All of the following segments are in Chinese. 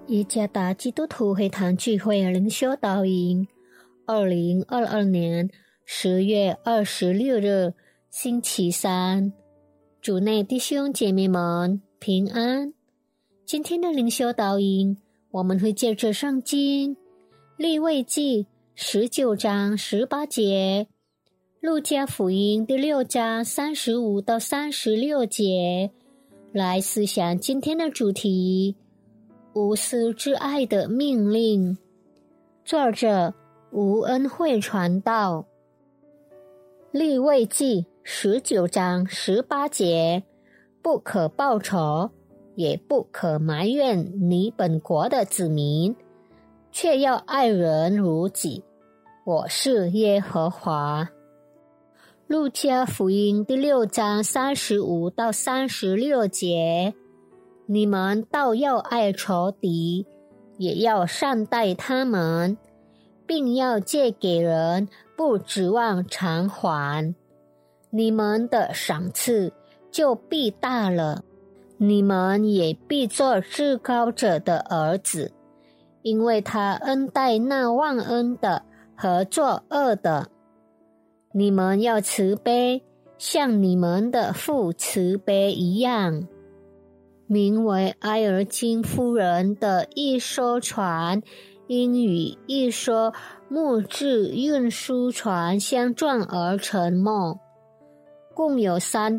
耶加达基督徒会堂聚会灵修导引2022年10月26日星期三，主内弟兄姐妹们平安。今天的灵修导引，我们会借着圣经利未记19章18节，路加福音第6章35到36节来思想今天的主题，无私之爱的命令。作者吴恩惠传道。利未记19章18节，不可报仇，也不可埋怨你本国的子民，却要爱人如己，我是耶和华。路加福音第6章35到36节，你们倒要爱仇敌，也要善待他们，并要借给人，不指望偿还。你们的赏赐就必大了，你们也必做至高者的儿子，因为他恩待那忘恩的和作恶的。你们要慈悲，像你们的父慈悲一样。名为埃尔金夫人的一艘船，因与一艘木质运输船相撞而沉没，共有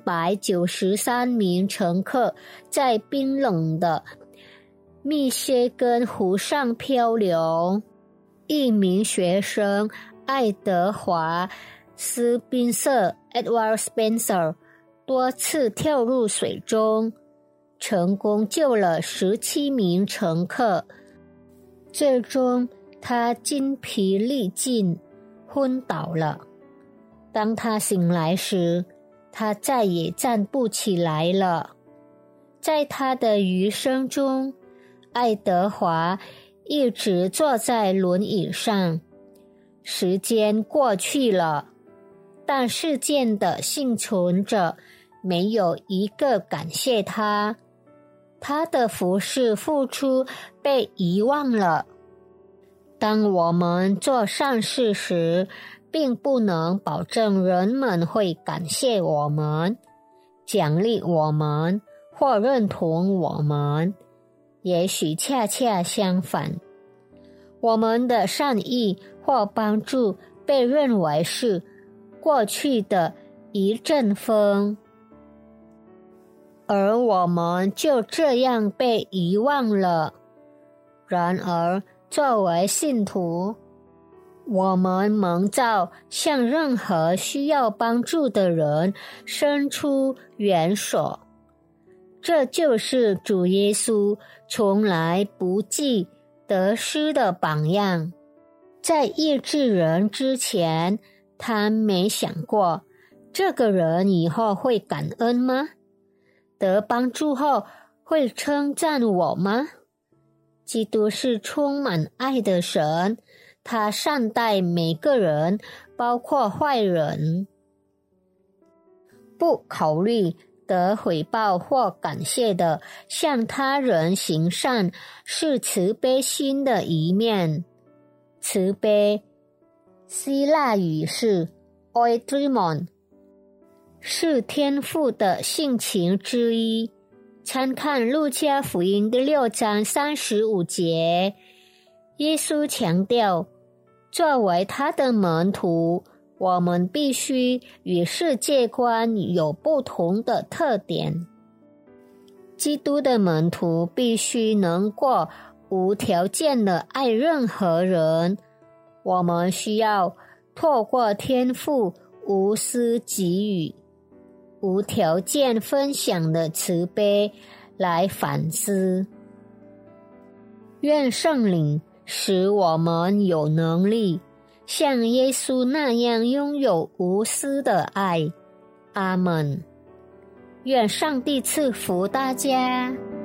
393名乘客在冰冷的密歇根湖上漂流。一名学生爱德华斯宾瑟 Edward Spencer 多次跳入水中，成功救了17名乘客，最终他筋疲力尽，昏倒了。当他醒来时，他再也站不起来了。在他的余生中，爱德华一直坐在轮椅上。时间过去了，但事件的幸存者没有一个感谢他，他的服侍付出被遗忘了。当我们做善事时，并不能保证人们会感谢我们、奖励我们或认同我们，也许恰恰相反，我们的善意或帮助被认为是过去的一阵风，而我们就这样被遗忘了。然而，作为信徒，我们蒙召向任何需要帮助的人伸出援手。这就是主耶稣从来不计得失的榜样。在医治人之前，他没想过这个人以后会感恩吗？得帮助后会称赞我吗？基督是充满爱的神，他善待每个人，包括坏人。不考虑得回报或感谢的向他人行善，是慈悲心的一面。慈悲希腊语是 oidrimon， 是天父的性情之一。参看路加福音第6章35节，耶稣强调，作为他的门徒，我们必须与世界观有不同的特点。基督的门徒必须能够无条件的爱任何人。我们需要透过天父无私给予、无条件分享的慈悲来反思。愿圣灵使我们有能力像耶稣那样拥有无私的爱。阿们。愿上帝赐福大家。